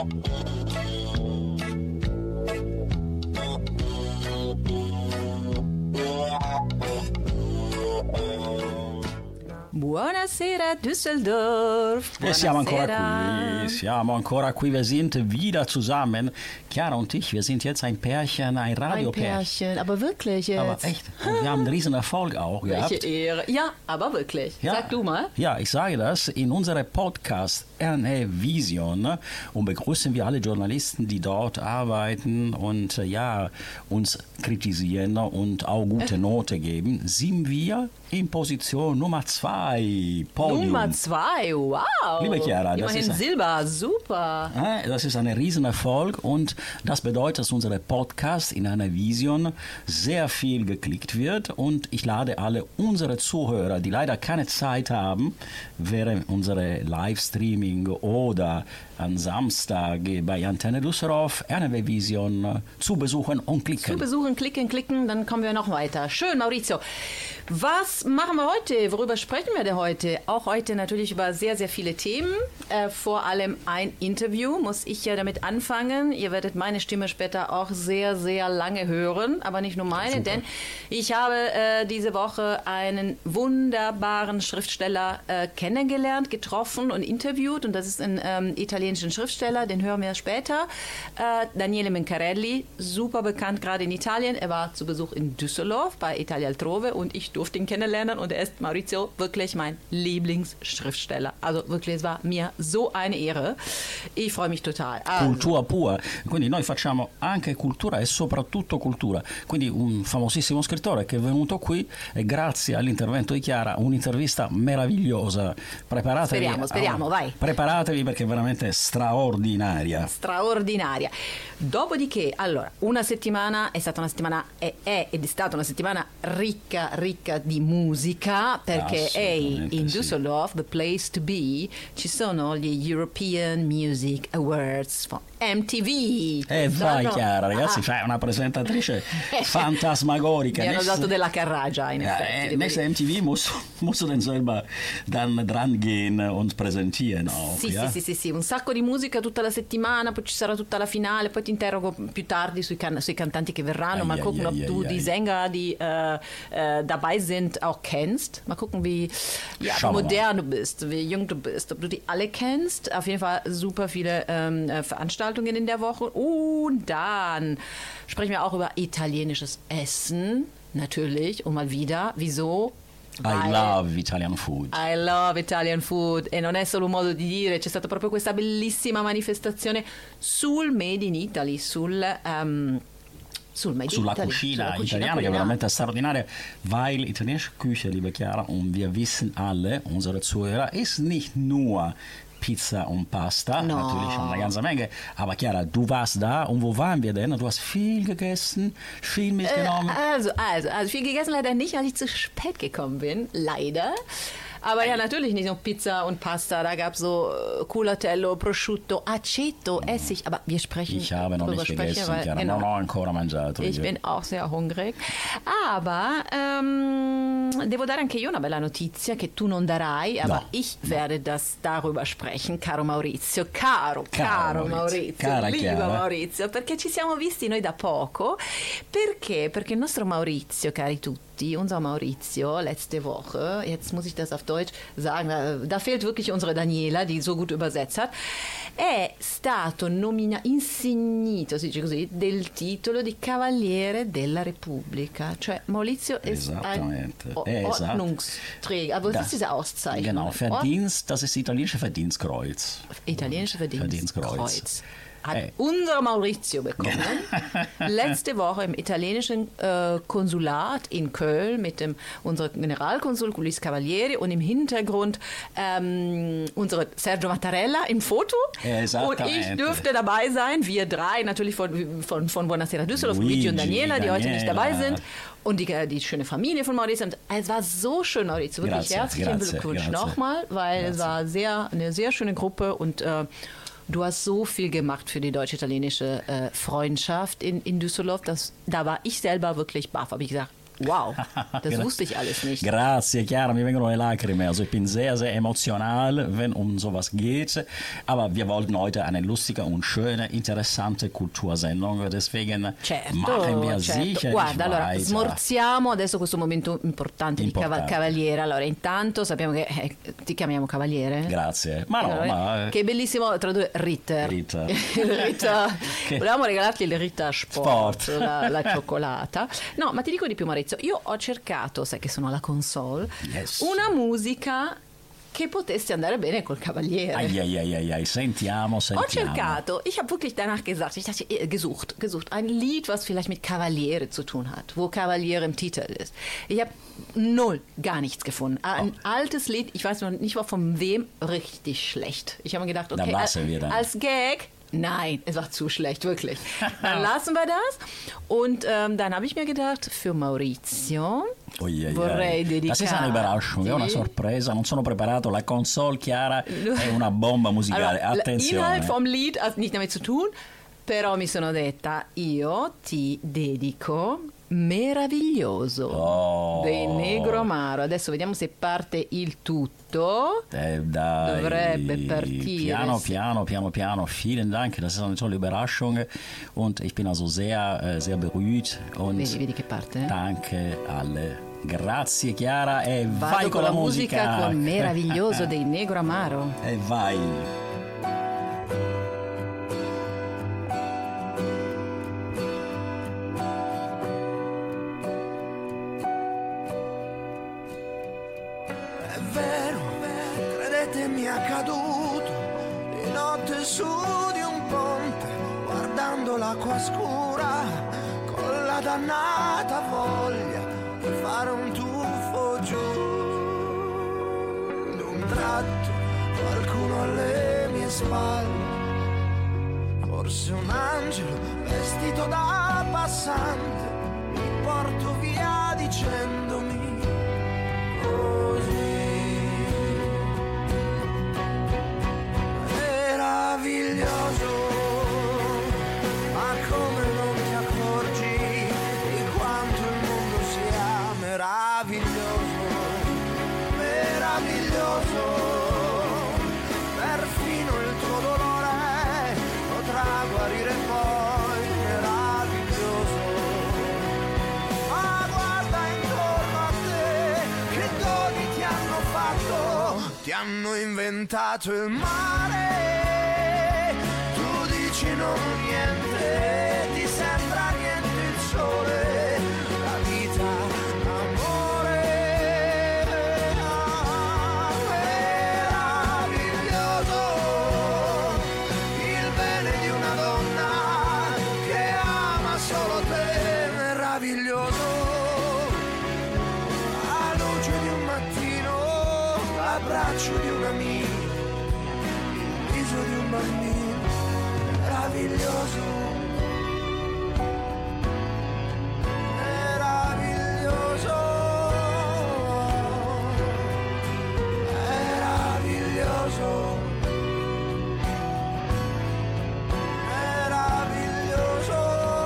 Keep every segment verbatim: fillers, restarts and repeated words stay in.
Buonasera Düsseldorf. Buonasera. Siamo ancora qui, siamo ancora qui, wir sind wieder zusammen. Chiara und ich, wir sind jetzt ein Pärchen, ein Radiopärchen. Ein Pärchen, aber wirklich jetzt. Aber echt, und wir haben einen riesen Erfolg auch gehabt. Welche Ehre. Ja, aber wirklich. Ja, Sag du mal. Ja, ich sage das, in unserem Podcast R N A Vision und begrüßen wir alle Journalisten, die dort arbeiten und ja, uns kritisieren und auch gute Note geben, sind wir in Position Nummer zwei. Podium. Nummer zwei, wow. Liebe Chiara, das immerhin ist, Silber, super. Das ist ein Riesenerfolg und das bedeutet, dass unser Podcast in einer Vision sehr viel geklickt wird und ich lade alle unsere Zuhörer, die leider keine Zeit haben, während unserer Livestreaming oder am Samstag bei Antenne Düsseldorf R N W Vision zu besuchen und klicken. Zu besuchen, klicken, klicken, dann kommen wir noch weiter. Schön, Maurizio. Was machen wir heute? Worüber sprechen wir denn heute? Auch heute natürlich über sehr, sehr viele Themen. Äh, vor allem ein Interview muss ich ja damit anfangen. Ihr werdet meine Stimme später auch sehr, sehr lange hören. Aber nicht nur meine, Super. denn ich habe äh, diese Woche einen wunderbaren Schriftsteller äh, kennengelernt, getroffen und interviewt. Und das ist ein ähm, italienischer Schriftsteller, den hören wir später. Äh, Daniele Mincarelli, super bekannt gerade in Italien. Er war zu Besuch in Düsseldorf bei Italia Altrove und ich durfte ihn kennenlernen und er ist, Maurizio, wirklich mein Lieblingsschriftsteller. Also wirklich, es war mir so eine Ehre. Ich freue mich total. Also. Cultura pura, quindi noi facciamo anche cultura e soprattutto cultura. Quindi un famosissimo scrittore che è venuto qui e grazie all'intervento di Chiara un'intervista meravigliosa. Preparatevi. Speriamo, speriamo, a, vai. Preparatevi perché è veramente straordinaria. Straordinaria. Dopodiché, allora, una settimana è stata una settimana, è, è ed è stata una settimana ricca, ricca di musica, perché è in Düsseldorf, sì. The place to be, ci sono gli European Music Awards for M T V. E eh, vai Chiara, ragazzi, ah. fai una presentatrice fantasmagorica. Mi hanno dato della carragia, in ja, effetti. Nächste M T V musst, musst du dann selber dann dran gehen und präsentieren auch. Sì, ja? sì, sì, sì, sì, un sacco di musica tutta la settimana, poi ci sarà tutta la finale, poi ti interrogo più tardi sui, can- sui cantanti che verranno, ai, mal ai, gucken, ai, ob du ai, die ai. Sänger, die äh, äh, dabei sind, auch kennst. Mal gucken, wie, ja, wie modern du bist, wie jung du bist, ob du die alle kennst. Auf jeden Fall super viele ähm, Veranstaltungen in der Woche. Und dann sprechen wir auch über italienisches Essen, natürlich, und mal wieder. Wieso? I love Italian food. I love Italian food e non è solo un modo di dire, c'è stata proprio questa bellissima manifestazione sul Made in Italy, sul... Um, Sul sulla Italy, cucina sulla cucina italiana, che è veramente straordinaria, weil italienische Küche, liebe Chiara, und wir wissen alle, unsere Zuhörer, ist nicht nur Pizza und Pasta, no. Natürlich schon eine ganze Menge, aber Chiara, du warst da und wo waren wir denn? Du hast viel gegessen, viel mitgenommen. Äh, also, also, also viel gegessen leider nicht, weil ich zu spät gekommen bin, leider. Aber ja, natürlich nicht nur Pizza und Pasta. Da gab es so äh, Culatello, Prosciutto, Aceto, Essig. Aber wir sprechen Ich habe noch nicht sprechen, gegessen, weil, Chiara, genau, non ho ancora mangiato. Ich bin auch sehr hungrig. Aber ähm, devo dare anche io una bella notizia che tu non darai, aber no, ich no. werde das darüber sprechen, caro Maurizio. Caro, caro, caro Maurizio, Cara lieber Chiara. Maurizio, perché ci siamo visti noi da poco. Perché? Perché il nostro Maurizio, cari tutti, unser Maurizio, letzte Woche, jetzt muss ich das auf Deutsch sagen, da, da fehlt wirklich unsere Daniela, die so gut übersetzt hat, è stato nominato, insignito, si dice così, del titolo di Cavaliere della Repubblica. Cioè Maurizio ist ein Ordnungsträger. Aber was ist diese Auszeichnung? Genau, Verdienst, das ist italienische Verdienstkreuz. Italienische Verdienstkreuz. Verdienstkreuz. Hat hey. unser Maurizio bekommen. Letzte Woche im italienischen äh, Konsulat in Köln mit dem unserem Generalkonsul Luis Cavalieri und im Hintergrund ähm, unsere Sergio Mattarella im Foto. Und ich dürfte dabei sein, wir drei, natürlich von, von, von Buonasera Düsseldorf, Luigi und Daniela, die heute nicht dabei sind. Und die, die schöne Familie von Maurizio. Und es war so schön, Maurizio. Wirklich grazie, herzlichen grazie, Glückwunsch grazie. nochmal, weil grazie. es war sehr, eine sehr schöne Gruppe und äh, du hast so viel gemacht für die deutsch-italienische äh, Freundschaft in, in Düsseldorf. Das, da war ich selber wirklich baff. Habe ich gesagt, Wow, das wusste ich alles nicht. Grazie, Chiara, mir vengono le lacrime. Also ich bin sehr, sehr emotional, wenn um sowas geht. Aber wir wollten heute eine lustige und schöne, interessante Kultursendung. Deswegen certo, machen wir certo. sicherlich Guarda, allora weiter. smorziamo adesso questo momento importante, Importante. di cava- Cavaliere. Allora, intanto sappiamo che eh, ti chiamiamo Cavaliere. Grazie. Ma no, Allora, ma... che bellissimo tradurre Ritter. Ritter. Ritter. Che- Volevamo regalarti il Ritter Sport, Sport. La, la cioccolata. No, ma ti dico di più, Maurizio. Io ho cercato, sai che sono alla console, Yes. una musica che potesse andare bene col Cavaliere. Ai, ai, ai, ai, ai. Sentiamo, Ho sentiamo. cercato, ich habe wirklich danach gesagt, ich dachte, äh, gesucht, gesucht, ein Lied, was vielleicht mit Kavaliere zu tun hat, wo Kavaliere im Titel ist. Ich habe null, gar nichts gefunden. Ein Oh. altes Lied, ich weiß noch nicht mal von wem, richtig schlecht. Ich habe mir gedacht, Dann okay, lassen als, wir dann. als Gag, nein, es war zu schlecht, wirklich. Dann lassen wir das. Und ähm, dann habe ich mir gedacht, für Maurizio Oi, ai, vorrei ai. dedicare. Das ist eine Überraschung, è una sorpresa, non sono preparato, la console Chiara è una bomba musicale, Allora, attenzione. L'inhalt vom Lied hat nicht damit zu tun, però mi sono detta, io ti dedico Meraviglioso Oh. dei Negro Amaro. Adesso vediamo se parte il tutto. Eh, dai. Dovrebbe partire. Piano, piano, piano, piano. Vielen Dank. Das ist eine tolle Überraschung. Und ich bin also sehr, äh, sehr berührt. Und Vedi, vedi che parte? danke alle. Grazie Chiara e Vado vai con la musica. con Meraviglioso dei Negro Amaro. E vai. È vero, credetemi, è accaduto di notte su di un ponte, guardando l'acqua scura, con la dannata voglia di fare un tuffo giù. D'un tratto qualcuno alle mie spalle, forse un angelo vestito da passante, mi porto via dicendomi così. Meraviglioso, ma come non ti accorgi di quanto il mondo sia meraviglioso, meraviglioso, perfino il tuo dolore potrà guarire poi, meraviglioso. Ma guarda intorno a te, che doni ti hanno fatto, ti hanno inventato il mare, tu dici non niente, ti sembra niente il sole, la vita, l'amore, meraviglioso, il bene di una donna che ama solo te, meraviglioso, la luce di un mattino, l'abbraccio di un amico, il viso di un bambino, meraviglioso, meraviglioso, meraviglioso, meraviglioso.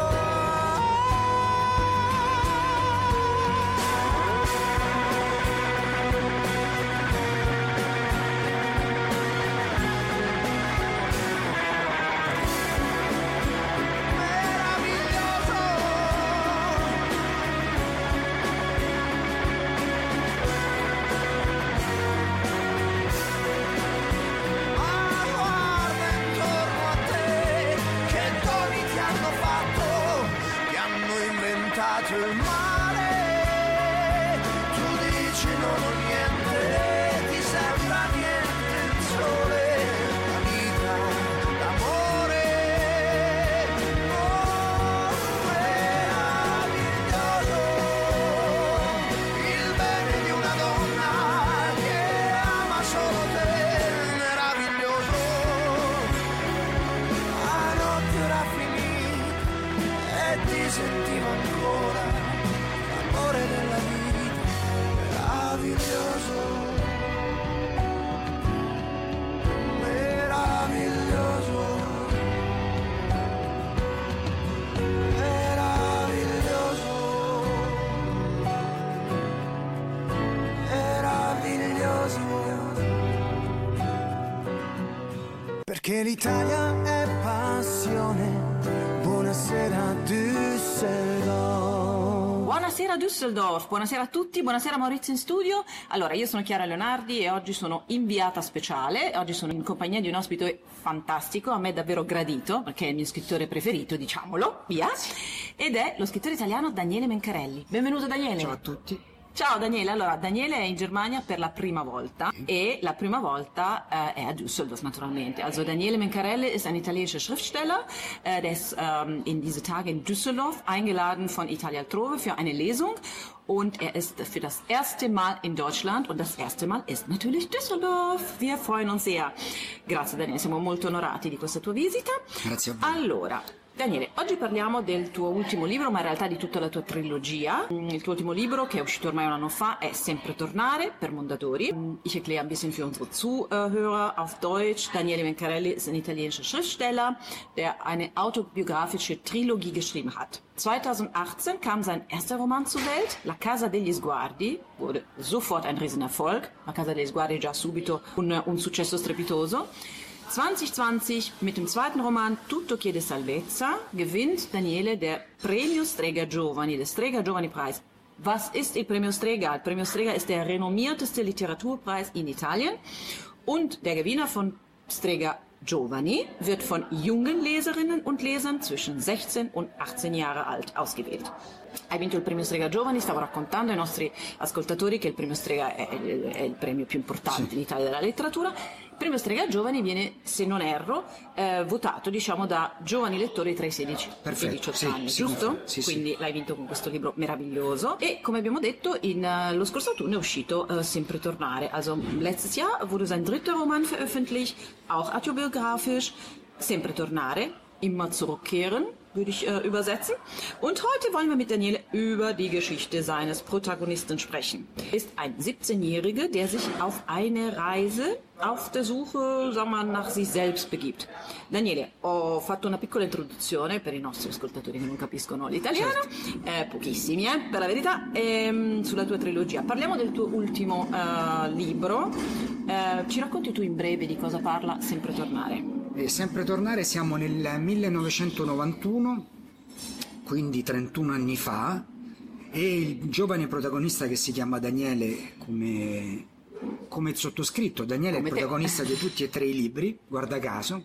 Ma guarda intorno a te, che doni ti hanno fatto, ti hanno inventato il mare, tu dici non ho niente, ti sembra niente il sole, la vita, l'amore, oh, meraviglioso, il bene di una donna che ama solo te, meraviglioso, la notte era finita e ti sentivo ancora che l'Italia è passione. Buonasera Düsseldorf. Buonasera Düsseldorf, buonasera a tutti, buonasera Maurizio in studio. Allora, io sono Chiara Leonardi e oggi sono inviata speciale, oggi sono in compagnia di un ospite fantastico, a me davvero gradito, perché è il mio scrittore preferito, diciamolo, via, ed è lo scrittore italiano Daniele Mencarelli. Benvenuto Daniele. Ciao a tutti. Ciao Daniele, allora Daniele è in Germania per la prima volta e la prima volta äh, è a Düsseldorf naturalmente. Also Daniele Mencarelli ist ein italienischer Schriftsteller, äh, der ist ähm, in diese Tage in Düsseldorf eingeladen von Italia Altrove für eine Lesung und er ist für das erste Mal in Deutschland und das erste Mal ist natürlich Düsseldorf. Wir freuen uns sehr. Grazie Daniele, siamo molto onorati di questa tua visita. Grazie a voi. Allora, Daniele, oggi parliamo del tuo ultimo libro, ma in realtà di tutta la tua trilogia. Il tuo ultimo libro, che è uscito ormai un anno fa, è Sempre tornare per Mondadori. Ich erkläre ein bisschen für unsere Zuhörer auf Deutsch. Daniele Mencarelli ist ein italienischer Schriftsteller, der eine autobiografische Trilogie geschrieben hat. zweitausendachtzehn kam sein erster Roman zur Welt, La Casa degli Sguardi, wurde sofort ein Riesenerfolg. La Casa degli Sguardi già subito un, un successo strepitoso. zwanzig zwanzig mit dem zweiten Roman Tutto chiede salvezza gewinnt Daniele der Premio Strega Giovani, der Strega Giovani Preis. Was ist il Premio Strega? Il Premio Strega ist der renommierteste Literaturpreis in Italien und der Gewinner von Strega Giovani wird von jungen Leserinnen und Lesern zwischen sechzehn und achtzehn Jahre alt ausgewählt. Hai vinto il Premio Strega Giovani, stavo raccontando ai nostri ascoltatori che il Premio Strega è, è, è il premio più importante sì. in Italia della letteratura. Il Premio Strega Giovani viene, se non erro, eh, votato diciamo da giovani lettori tra i sedici Perfetto, e i diciotto sì, anni, sì, giusto? Sì, Quindi sì. l'hai vinto con questo libro meraviglioso e come abbiamo detto in, uh, lo scorso autunno è uscito uh, Sempre tornare. Also letztes Jahr wurde sein dritter Roman veröffentlicht, auch autobiografisch, Sempre tornare, immer zurückkehren, würde ich äh, übersetzen. Und heute wollen wir mit Daniele über die Geschichte seines Protagonisten sprechen. Er ist ein siebzehnjähriger, der sich auf eine Reise auf der Suche, sagen wir, nach sich selbst begibt. Daniele, ho fatto una piccola introduzione per i nostri ascoltatori che non capiscono l'italiano, certo. eh, pochissimi, eh, per la verità, ehm, sulla tua trilogia. Parliamo del tuo ultimo uh, libro. Eh, ci racconti tu in breve di cosa parla Sempre tornare? E sempre tornare, siamo nel millenovecentonovantuno, quindi trentuno anni fa, e il giovane protagonista che si chiama Daniele, come, come il sottoscritto, Daniele come è il protagonista te. di tutti e tre i libri, guarda caso,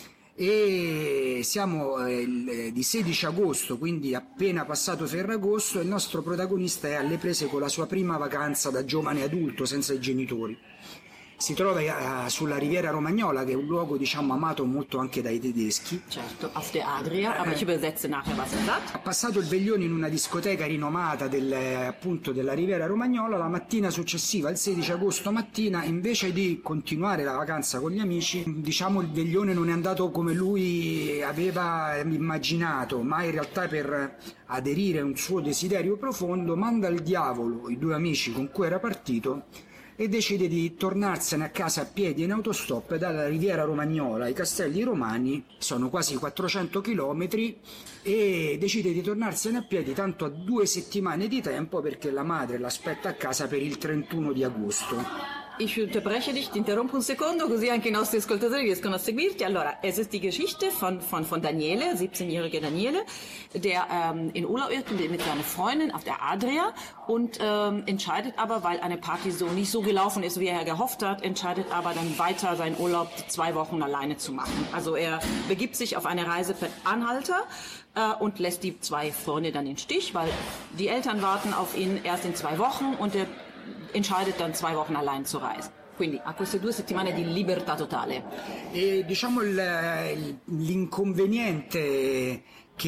e siamo eh, di sedici agosto, quindi appena passato Ferragosto, e il nostro protagonista è alle prese con la sua prima vacanza da giovane adulto senza i genitori. Si trova uh, sulla Riviera Romagnola, che è un luogo diciamo amato molto anche dai tedeschi. Certo, auf der Adria, aber ich übersetze nachher was er sagt. Ha passato il veglione in una discoteca rinomata del, appunto della Riviera Romagnola. La mattina successiva, il sedici agosto mattina, invece di continuare la vacanza con gli amici, diciamo il veglione non è andato come lui aveva immaginato, ma in realtà per aderire a un suo desiderio profondo manda al diavolo i due amici con cui era partito e decide di tornarsene a casa a piedi in autostop dalla Riviera Romagnola ai Castelli Romani, sono quasi quattrocento chilometri, e decide di tornarsene a piedi tanto a due settimane di tempo perché la madre l'aspetta a casa per il trentuno di agosto. Ich unterbreche dich, ti interrompo un secondo, così anche i nostri ascoltatori riescono a seguirti. Allora, es ist die Geschichte von, von, von Daniele, siebzehnjähriger Daniele, der ähm, in Urlaub ist mit seiner Freundin auf der Adria und ähm, entscheidet aber, weil eine Party so nicht so gelaufen ist, wie er gehofft hat, entscheidet aber dann weiter seinen Urlaub zwei Wochen alleine zu machen. Also er begibt sich auf eine Reise per Anhalter äh, und lässt die zwei Freunde dann im Stich, weil die Eltern warten auf ihn erst in zwei Wochen und er entscheidet dann zwei Wochen allein zu reisen. Quindi ha queste due settimane di libertà totale. E diciamo il, l'inconveniente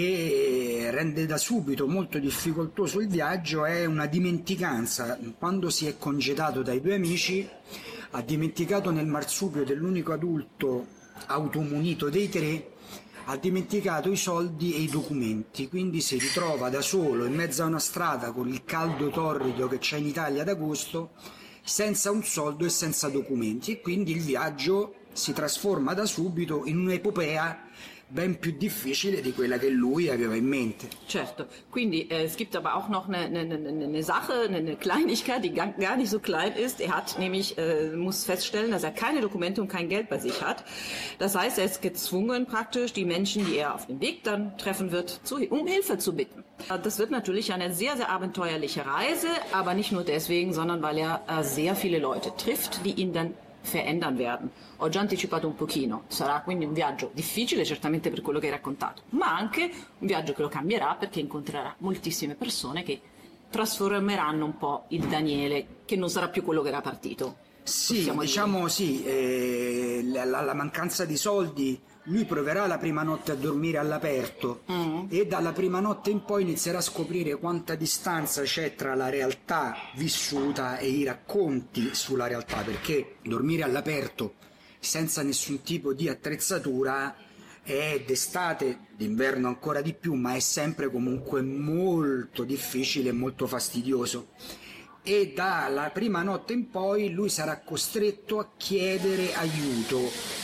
che rende da subito molto difficoltoso il viaggio è una dimenticanza. Quando si è congedato dai due amici, ha dimenticato nel marsupio dell'unico adulto automunito dei tre, ha dimenticato i soldi e i documenti, quindi si ritrova da solo in mezzo a una strada con il caldo torrido che c'è in Italia ad agosto, senza un soldo e senza documenti, e quindi il viaggio si trasforma da subito in un'epopea ben più difficile di quella che lui aveva in mente. Certo, quindi äh, es gibt aber auch noch eine, eine, eine Sache, eine Kleinigkeit, die gar, gar nicht so klein ist. Er hat nämlich, äh, muss feststellen, dass er keine Dokumente und kein Geld bei sich hat. Das heißt, er ist gezwungen praktisch, die Menschen, die er auf dem Weg dann treffen wird, zu, um Hilfe zu bitten. Das wird natürlich eine sehr, sehr abenteuerliche Reise, aber nicht nur deswegen, sondern weil er äh, sehr viele Leute trifft, die ihn dann verändern werden. Ho già anticipato un pochino, sarà quindi un viaggio difficile certamente per quello che hai raccontato, ma anche un viaggio che lo cambierà perché incontrerà moltissime persone che trasformeranno un po' il Daniele, che non sarà più quello che era partito. Sì, diciamo dire. sì, eh, la, la mancanza di soldi, lui proverà la prima notte a dormire all'aperto mm. e dalla prima notte in poi inizierà a scoprire quanta distanza c'è tra la realtà vissuta e i racconti sulla realtà, perché dormire all'aperto senza nessun tipo di attrezzatura è d'estate, d'inverno ancora di più, ma è sempre comunque molto difficile e molto fastidioso. E dalla prima notte in poi lui sarà costretto a chiedere aiuto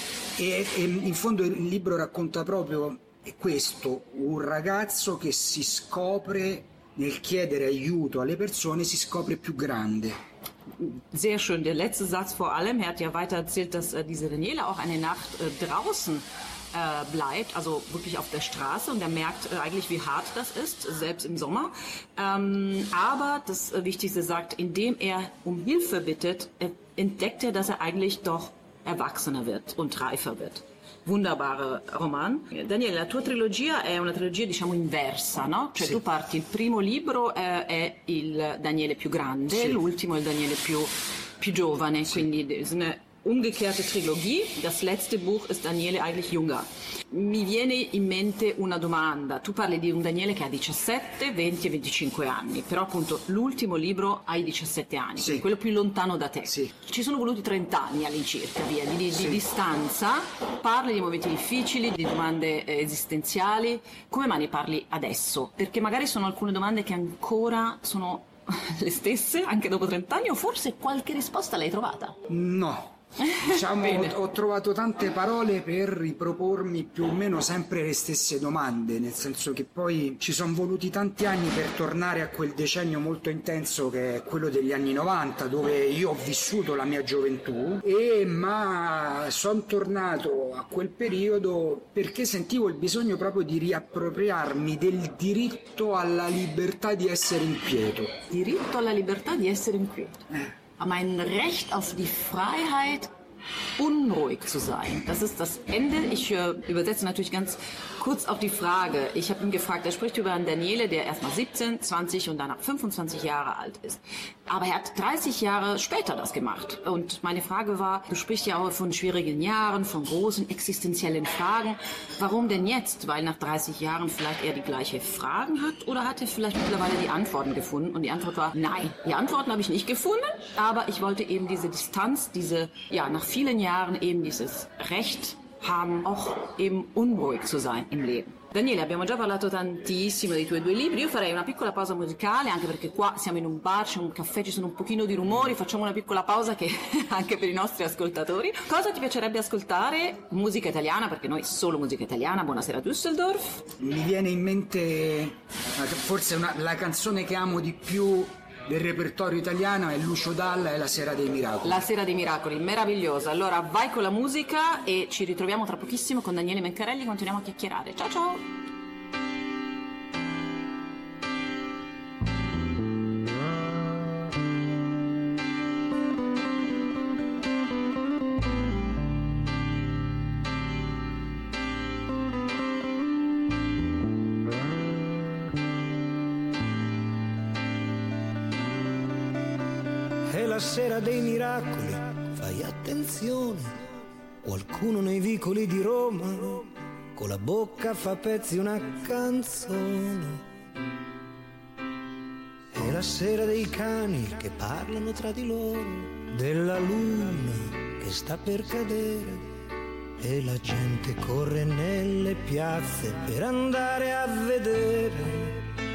e, e in fondo il libro racconta proprio questo, un ragazzo che si scopre nel chiedere aiuto alle persone, si scopre più grande. Sehr schön, der letzte Satz vor allem. Er hat ja weiter erzählt, dass äh, diese Daniela auch eine Nacht äh, draußen äh, bleibt, also wirklich auf der Straße, und er merkt äh, eigentlich, wie hart das ist, selbst im Sommer. Ähm, aber das äh, Wichtigste sagt, indem er um Hilfe bittet, äh, entdeckt er, dass er eigentlich doch erwachsener wird und reifer wird. Wunderbare Roman. Daniele, la tua trilogia è una trilogia diciamo inversa, no? Cioè sì. Tu parti, il primo libro eh, è il Daniele più grande, sì. L'ultimo è il Daniele più, più giovane, sì. Quindi è una umgekehrte Trilogie. Das letzte Buch ist Daniele eigentlich jünger. Mi viene in mente una domanda. Tu parli di un Daniele che ha diciassette, venti e venticinque anni, però appunto l'ultimo libro hai diciassette anni, sì. Quello più lontano da te. Sì. Ci sono voluti trenta anni all'incirca, via, di, di, sì. di distanza. Parli di momenti difficili, di domande eh, esistenziali. Come mai ne parli adesso? Perché magari sono alcune domande che ancora sono le stesse, anche dopo trenta anni, o forse qualche risposta l'hai trovata? No. Diciamo, ho, ho trovato tante parole per ripropormi più o meno sempre le stesse domande, nel senso che poi ci sono voluti tanti anni per tornare a quel decennio molto intenso che è quello degli anni novanta, dove io ho vissuto la mia gioventù, e ma sono tornato a quel periodo perché sentivo il bisogno proprio di riappropriarmi del diritto alla libertà di essere inquieto. Diritto alla libertà di essere inquieto. Eh. Mein Recht auf die Freiheit, unruhig zu sein. Das ist das Ende. Ich äh, übersetze natürlich ganz kurz auf die Frage. Ich habe ihn gefragt, er spricht über einen Daniele, der erstmal siebzehn, zwanzig und danach fünfundzwanzig Jahre alt ist. Aber er hat dreißig Jahre später das gemacht. Und meine Frage war, du sprichst ja auch von schwierigen Jahren, von großen existenziellen Fragen. Warum denn jetzt? Weil nach dreißig Jahren vielleicht er die gleichen Fragen hat, oder hat er vielleicht mittlerweile die Antworten gefunden? Und die Antwort war, nein, die Antworten habe ich nicht gefunden, aber ich wollte eben diese Distanz, diese, ja, nach vielen Jahren eben dieses Recht haben, auch eben unruhig zu sein im Leben. Daniele, abbiamo già parlato tantissimo dei tuoi due libri. Io farei una piccola pausa musicale, anche perché qua siamo in un bar, c'è un caffè, ci sono un pochino di rumori. Facciamo una piccola pausa che anche per i nostri ascoltatori. Cosa ti piacerebbe ascoltare? Musica italiana, perché noi solo musica italiana. Buonasera Düsseldorf. Mi viene in mente forse una, la canzone che amo di più del repertorio italiano è Lucio Dalla e La Sera dei Miracoli. La Sera dei Miracoli, meravigliosa. Allora vai con la musica e ci ritroviamo tra pochissimo con Daniele Mencarelli, continuiamo a chiacchierare. Ciao ciao! La sera dei miracoli, fai attenzione, qualcuno nei vicoli di Roma con la bocca fa pezzi una canzone. È la sera dei cani che parlano tra di loro, della luna che sta per cadere, e la gente corre nelle piazze per andare a vedere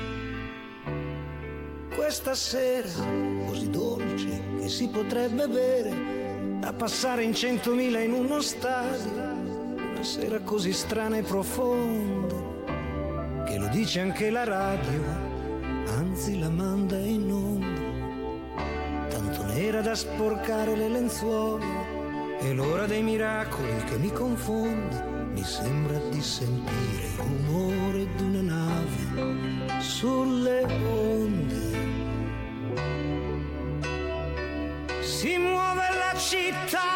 questa sera così dolce che si potrebbe bere, da passare in centomila in uno stadio, una una sera così strana e profonda, che lo dice anche la radio, anzi la manda in onda, tanto nera da sporcare le lenzuola, è l'ora dei miracoli che mi confonde, mi sembra di sentire il rumore di una nave sulle onde. Si muove la città,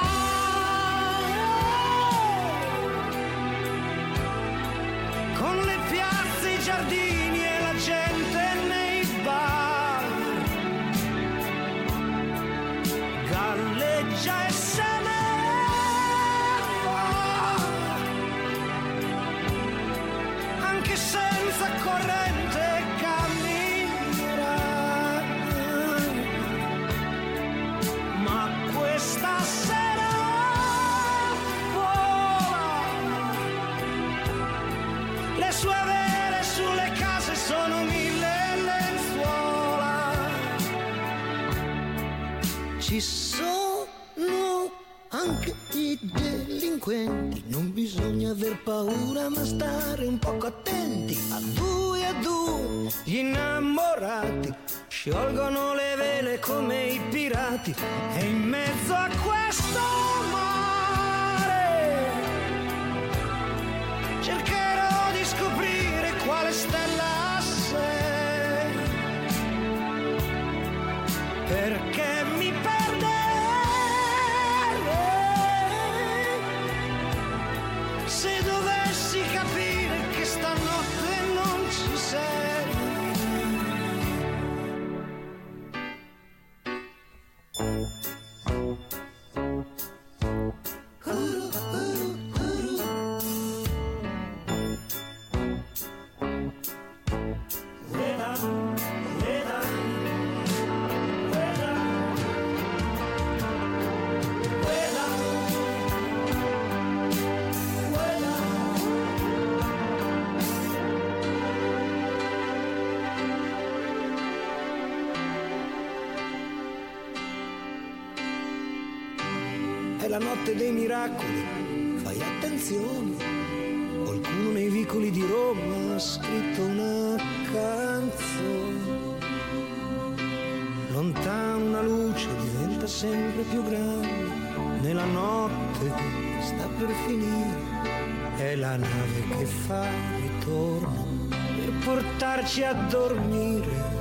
con le piazze, i giardini e la gente nei bar, galleggia e se ne va, anche senza corrente camminerà, ma questa sera vola, le sue vele sulle case sono mille lenzuola, ci sono anche i delinquenti, non bisogna aver paura ma stare un poco attenti, a due a due gli innamorati sciolgono le vele come i pirati, e in mezzo a questo mare cercherò di scoprire quale stella sei, perché mi perderei se dovessi capire che stanotte non ci sei. È la notte dei miracoli, fai attenzione, qualcuno nei vicoli di Roma ha scritto una canzone, lontano una luce diventa sempre più grande, nella notte sta per finire, è la nave che fa ritorno per portarci a dormire.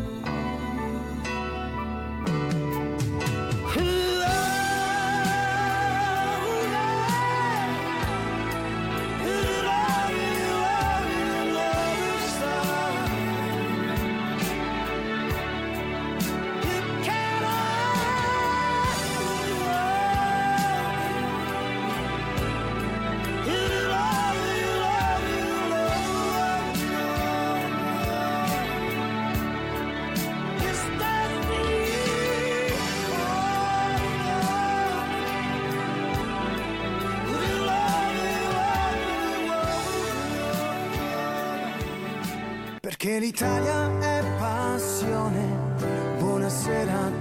Perché l'Italia è passione. Buonasera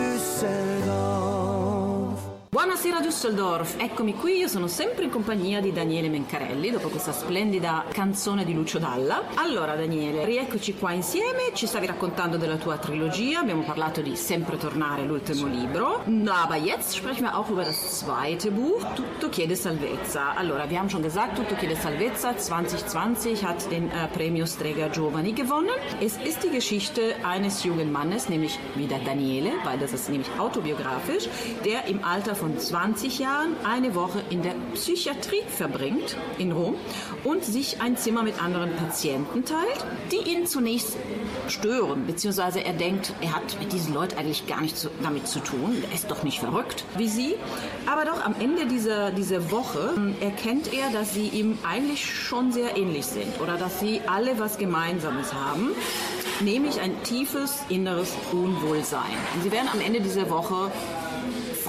Düsseldorf. Buonasera Düsseldorf, eccomi qui, io sono sempre in compagnia di Daniele Mencarelli dopo questa splendida canzone di Lucio Dalla. Allora Daniele, rieccoci qua insieme, ci stavi raccontando della tua trilogia, abbiamo parlato di Sempre tornare, l'ultimo libro, aber jetzt sprechen wir auch über das zweite Buch, Tutto chiede salvezza. Allora, wir haben schon gesagt, Tutto chiede salvezza zwanzig zwanzig hat den äh, Premio Strega Giovani gewonnen. Es ist die Geschichte eines jungen Mannes, nämlich wieder Daniele, weil das ist nämlich autobiografisch, der im Alter von zwanzig Jahren eine Woche in der Psychiatrie verbringt in Rom und sich ein Zimmer mit anderen Patienten teilt, die ihn zunächst stören, beziehungsweise er denkt, er hat mit diesen Leuten eigentlich gar nichts damit zu tun, er ist doch nicht verrückt wie sie, aber doch am Ende dieser, dieser Woche erkennt er, dass sie ihm eigentlich schon sehr ähnlich sind oder dass sie alle was Gemeinsames haben, nämlich ein tiefes inneres Unwohlsein. Und sie werden am Ende dieser Woche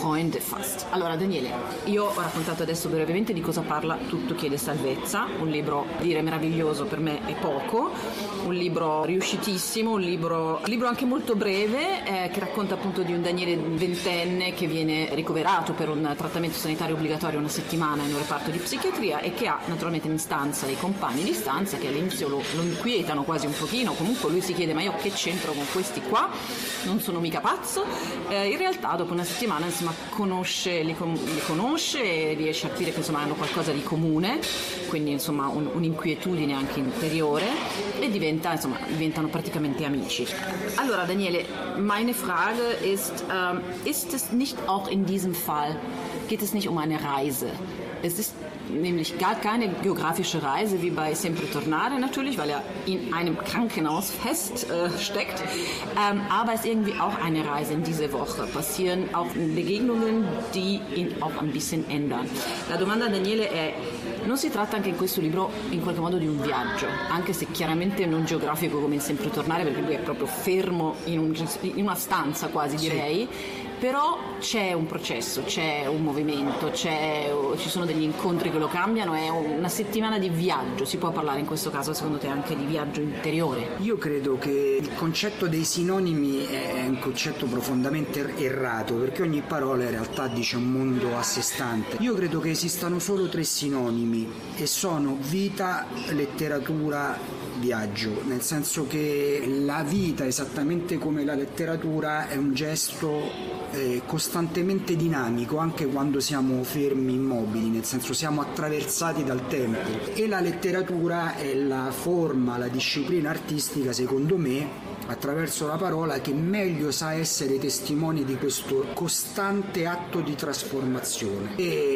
Freunde fast. Allora Daniele, io ho raccontato adesso brevemente di cosa parla Tutto chiede salvezza, un libro, dire meraviglioso per me è poco, un libro riuscitissimo, un libro, un libro anche molto breve eh, che racconta appunto di un Daniele ventenne che viene ricoverato per un trattamento sanitario obbligatorio una settimana in un reparto di psichiatria e che ha naturalmente in stanza dei compagni di stanza che all'inizio lo, lo inquietano quasi un pochino, comunque lui si chiede ma io che c'entro con questi qua, non sono mica pazzo, eh, in realtà dopo una settimana insomma conosce, li, li conosce e riesce a capire che insomma hanno qualcosa di comune, quindi insomma un, un'inquietudine anche interiore e diventa, insomma, diventano praticamente amici. Allora Daniele, meine Frage ist, ähm, ist es nicht auch in diesem Fall, geht es nicht um eine Reise? Es ist nämlich gar keine geografische Reise wie bei Sempre Tornare natürlich, weil er in einem Krankenhaus fest äh, steckt, ähm, aber es ist irgendwie auch eine Reise in diese Woche. Passieren auch Begegnungen, die ihn auch ein bisschen ändern. La domanda a Daniele è: non si tratta anche in questo libro in qualche modo di un viaggio, anche se chiaramente non geografico come in Sempre Tornare, perché lui è proprio fermo in, un, in una stanza quasi direi, sì. Però c'è un processo, c'è un movimento, c'è, ci sono degli incontri che lo cambiano, è una settimana di viaggio. Si può parlare in questo caso secondo te anche di viaggio interiore? Io credo che il concetto dei sinonimi è un concetto profondamente errato, perché ogni parola in realtà dice un mondo a sé stante. Io credo che esistano solo tre sinonimi e sono vita, letteratura, viaggio, nel senso che la vita, esattamente come la letteratura, è un gesto eh, costantemente dinamico anche quando siamo fermi, immobili, nel senso siamo attraversati dal tempo, e la letteratura è la forma, la disciplina artistica, secondo me, attraverso la parola, che meglio sa essere testimone di questo costante atto di trasformazione.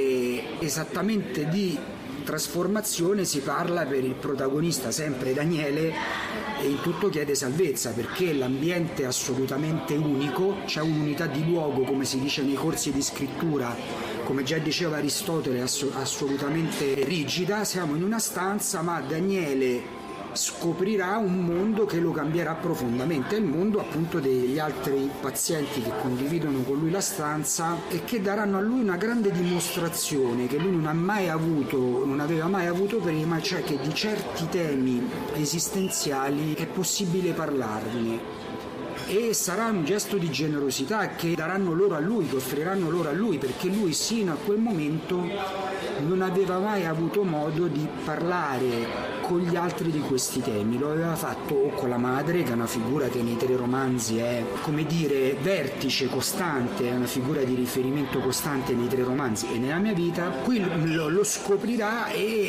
E esattamente di trasformazione si parla per il protagonista, sempre Daniele, e in Tutto chiede salvezza, perché l'ambiente è assolutamente unico, c'è un'unità di luogo, come si dice nei corsi di scrittura, come già diceva Aristotele, ass- assolutamente rigida. Siamo in una stanza, ma Daniele scoprirà un mondo che lo cambierà profondamente, il mondo appunto degli altri pazienti che condividono con lui la stanza e che daranno a lui una grande dimostrazione che lui non ha mai avuto, non aveva mai avuto prima, cioè che di certi temi esistenziali è possibile parlarne. E sarà un gesto di generosità che daranno loro a lui, che offriranno loro a lui, perché lui sino a quel momento non aveva mai avuto modo di parlare con gli altri di questi temi. Lo aveva fatto o con la madre, che è una figura che nei tre romanzi è, come dire, vertice costante, è una figura di riferimento costante nei tre romanzi e nella mia vita. Qui lo, lo scoprirà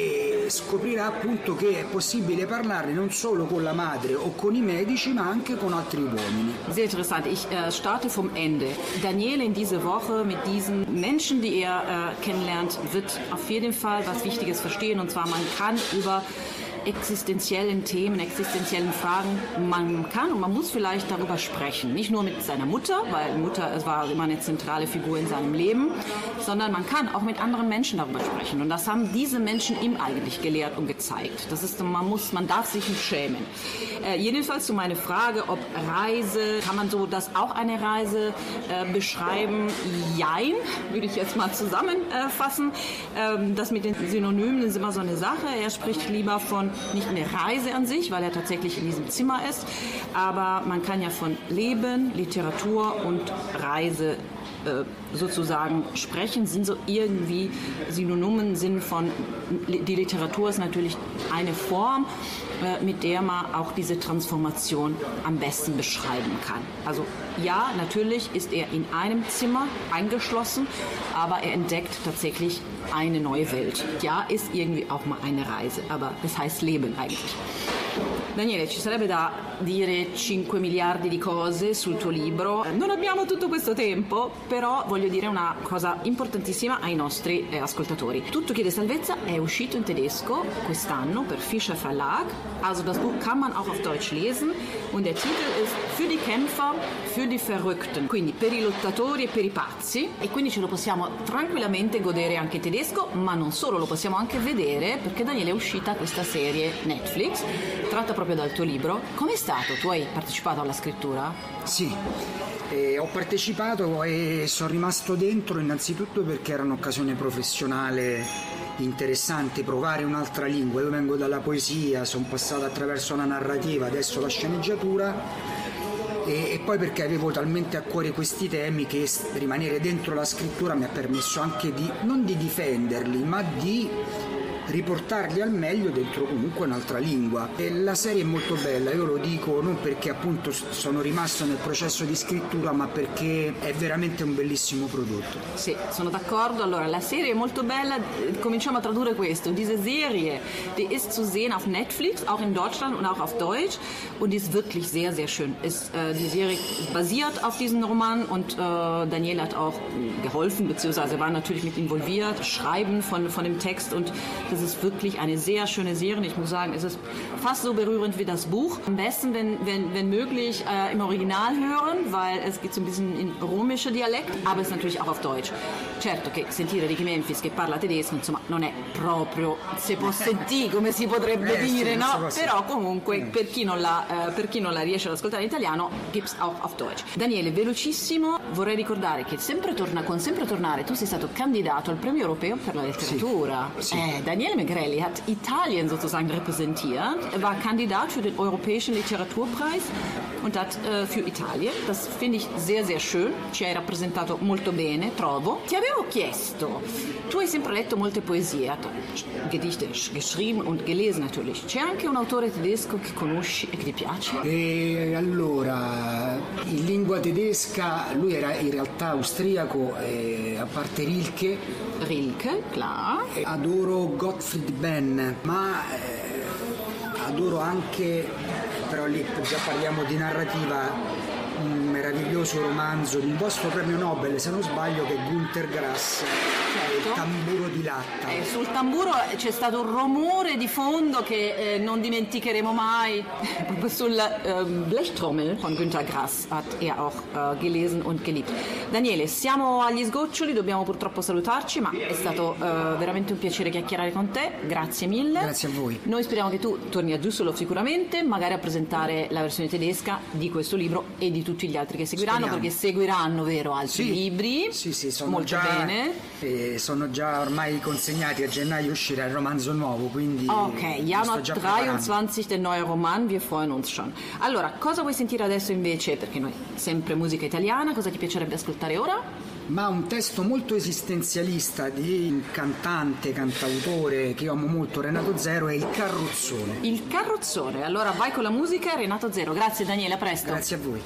e scoprirà appunto che è possibile parlarne non solo con la madre o con i medici, ma anche con altri uomini. Sehr interessant. Ich äh, starte vom Ende. Daniele in diese Woche mit diesen Menschen, die er äh, kennenlernt, wird auf jeden Fall was Wichtiges verstehen. Und zwar, man kann über existenziellen Themen, existenziellen Fragen, man kann und man muss vielleicht darüber sprechen. Nicht nur mit seiner Mutter, weil Mutter es war immer eine zentrale Figur in seinem Leben, sondern man kann auch mit anderen Menschen darüber sprechen. Und das haben diese Menschen ihm eigentlich gelehrt und gezeigt. Das ist, man muss, man darf sich nicht schämen. Äh, jedenfalls zu meiner Frage, ob Reise, kann man so das auch eine Reise äh, beschreiben? Jein, würde ich jetzt mal zusammenfassen. Ähm, das mit den Synonymen ist immer so eine Sache. Er spricht lieber von nicht eine Reise an sich, weil er tatsächlich in diesem Zimmer ist, aber man kann ja von Leben, Literatur und Reise äh, sozusagen sprechen, sind so irgendwie Synonymen, sind von, die Literatur ist natürlich eine Form, äh, mit der man auch diese Transformation am besten beschreiben kann. Also ja, natürlich ist er in einem Zimmer eingeschlossen, aber er entdeckt tatsächlich eine neue Welt. Ja, ist irgendwie auch mal eine Reise, aber das heißt Leben eigentlich. Daniele, ci sarebbe da dire cinque miliardi di cose sul tuo libro. Non abbiamo tutto questo tempo, però voglio dire una cosa importantissima ai nostri eh, ascoltatori. Tutto chiede salvezza è uscito in tedesco quest'anno per Fischer Verlag Also das Buch kann man auch auf Deutsch lesen und der Titel ist Für die Kämpfer, für die Verrückten, quindi per i lottatori e per i pazzi, e quindi ce lo possiamo tranquillamente godere anche in tedesco, ma non solo, lo possiamo anche vedere perché Daniele è uscita questa serie Netflix tratta proprio dal tuo libro. Com'è stato? Tu hai partecipato alla scrittura? Sì, eh, ho partecipato e sono rimasto dentro innanzitutto perché era un'occasione professionale interessante, provare un'altra lingua. Io vengo dalla poesia, sono passato attraverso la narrativa, adesso la sceneggiatura, e, e poi perché avevo talmente a cuore questi temi che rimanere dentro la scrittura mi ha permesso anche di non di difenderli, ma di riportarli al meglio dentro comunque un'altra lingua. E la serie è molto bella, io lo dico non perché appunto sono rimasto nel processo di scrittura, ma perché è veramente un bellissimo prodotto. Sì, sono d'accordo. Allora, la serie è molto bella, cominciamo a tradurre questo. Diese Serie, die ist zu sehen auf Netflix, auch in Deutschland und auch auf Deutsch, und die ist wirklich sehr, sehr schön. Ist, äh, die Serie basiert auf diesem Roman und äh, Daniele hat auch geholfen, beziehungsweise war natürlich mit involviert, Schreiben von, von dem Text, und das ist wirklich eine sehr schöne Serie. Ich muss sagen, es ist fast so berührend wie das Buch. Am besten, wenn, wenn, wenn möglich, äh, im Original hören, weil es geht so ein bisschen in romischer Dialekt, aber es ist natürlich auch auf Deutsch. Certo che sentire Ricky Memphis che parla tedesco, insomma, non è proprio se posso dire, come si potrebbe eh, dire, sì, no? so Però comunque, eh. per, chi non la, eh, per chi non la riesce ad ascoltare in italiano, gibt's auch auf Deutsch. Daniele, velocissimo, vorrei ricordare che sempre torna, con Sempre Tornare tu sei stato candidato al premio europeo per la letteratura. Sì, sì. Eh, Daniele Megrelli hat Italien sozusagen repräsentiert. Er war Kandidat für den Europäischen Literaturpreis und hat äh, für Italien. Das finde ich sehr, sehr schön. Ci hai rappresentato molto bene, trovo. Ti avevo chiesto, tu hai sempre letto molte poesie, hai Gedichte geschrieben und gelesen natürlich. C'è anche un autore tedesco che conosci e che ti piace? E allora, in lingua tedesca, lui era in realtà austriaco, eh, a parte Rilke. Rilke, klar. Adoro Gottfried Benn, ma eh, adoro anche, però lì già parliamo di narrativa, un meraviglioso romanzo di un vostro premio Nobel, se non sbaglio, che è Günter Grass, certo. Il tamburo di latta. Eh, sul tamburo c'è stato un rumore di fondo che eh, non dimenticheremo mai. Proprio sul äh, Blechtrommel von Günter Grass hat er auch äh, gelesen und geliebt. Daniele, siamo agli sgoccioli, dobbiamo purtroppo salutarci, ma è stato äh, veramente un piacere chiacchierare con te. Grazie mille. Grazie a voi. Noi speriamo che tu torni a Düsseldorf sicuramente, magari a presentare la versione tedesca di questo libro e di tutti gli altri che seguiranno. Speriamo. Perché seguiranno, vero, altri sì, libri. Sì, sì, sono molto già, bene. Eh, sono già ormai consegnati, a gennaio uscirà il romanzo nuovo, quindi ok, Januar dreiundzwanzig der neue Roman, wir freuen uns schon. Allora, cosa vuoi sentire adesso invece? Perché noi sempre musica italiana, cosa ti piacerebbe ascoltare ora? Ma un testo molto esistenzialista di un cantante, cantautore che io amo molto, Renato Zero, è Il Carrozzone. Il Carrozzone, allora vai con la musica, Renato Zero. Grazie Daniele, a presto. Grazie a voi.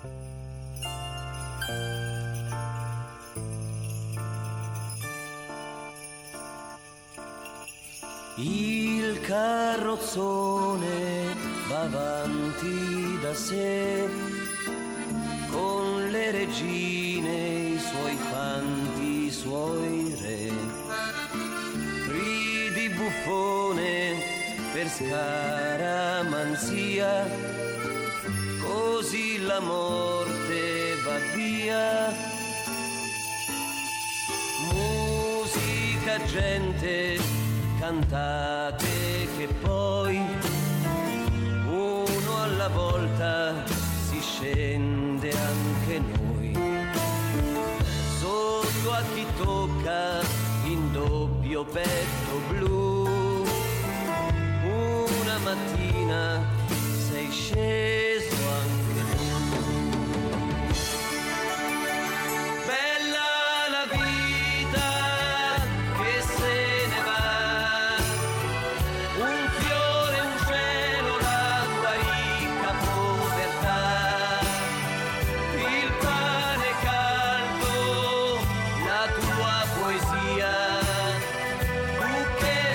Il carrozzone va avanti da sé, con le regine, i suoi fanti, i suoi re. Ridi buffone per scaramanzia, così la morte va via. Musica, gente, cantate che poi uno alla volta si scende anche noi. Sotto a chi tocca in doppio petto blu, una mattina sei sceso anche tu. Bella la vita che se ne va, un fiore, un cielo, la tua ricca povertà, il pane caldo, la tua poesia, tu che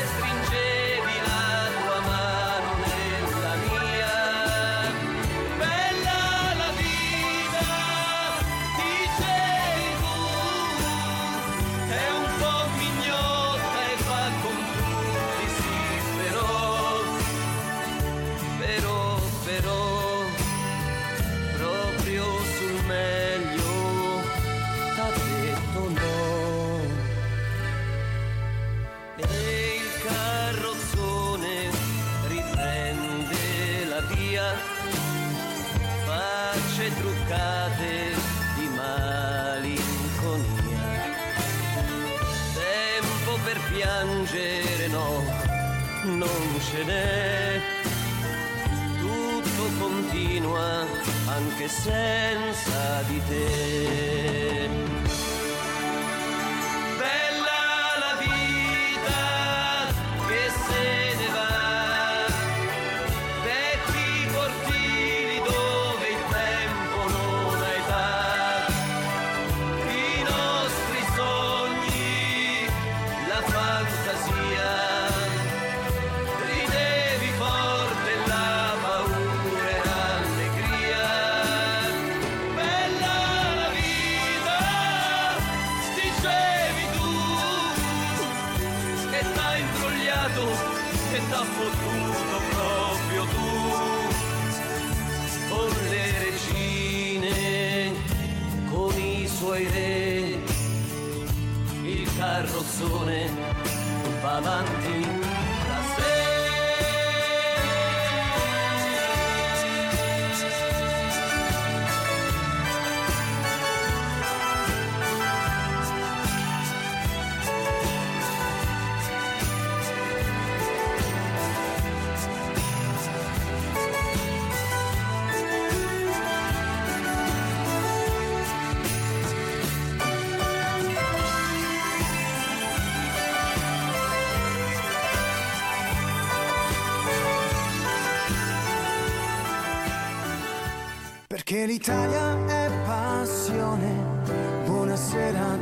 piangere no, non ce n'è. Tutto continua anche senza di te. Bella la vita che se ne va, vecchi cortili dove il tempo non ha età, i nostri sogni, la fantasia, ridevi forte la paura e l'allegria. Bella la vita, dicevi tu, che t'ha imbrogliato, che t'ha fottuto proprio tu, con le regine, con i suoi re, il carrozzone va avanti da sé. Perché l'Italia è passione. Buonasera